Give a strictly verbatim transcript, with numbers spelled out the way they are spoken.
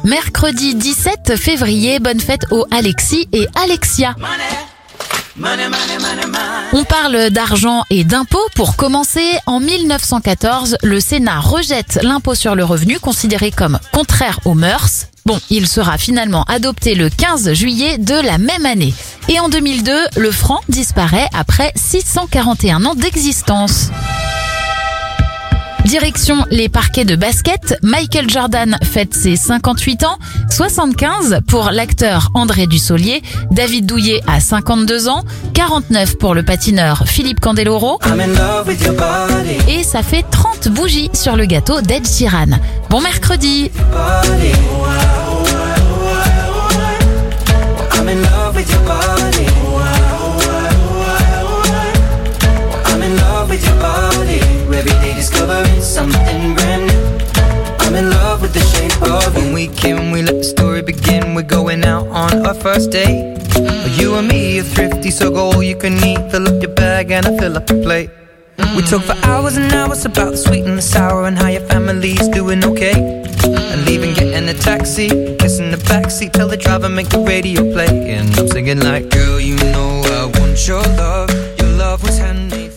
Mercredi dix-sept février, bonne fête aux Alexis et Alexia. On parle d'argent et d'impôts. Pour commencer, en mille neuf cent quatorze, le Sénat rejette l'impôt sur le revenu considéré comme contraire aux mœurs. Bon, il sera finalement adopté le quinze juillet de la même année. Et en deux mille deux, le franc disparaît après six cent quarante et un ans d'existence. Direction les parquets de basket, Michael Jordan fête ses cinquante-huit ans, soixante-quinze pour l'acteur André Dussolier, David Douillet a cinquante-deux ans, quarante-neuf pour le patineur Philippe Candeloro, et ça fait trente bougies sur le gâteau d'Ed Sheeran. Bon mercredi. Discovering something brand new. I'm in love with the shape of you. When we came, we let the story begin. We're going out on our first date. You and me are thrifty, so go all you can eat. Fill up your bag and I fill up your plate. We talk for hours and hours about the sweet and the sour and how your family's doing okay. And leaving, getting a taxi, kissing the backseat, tell the driver make the radio play. And I'm singing like, girl, you know I want your love.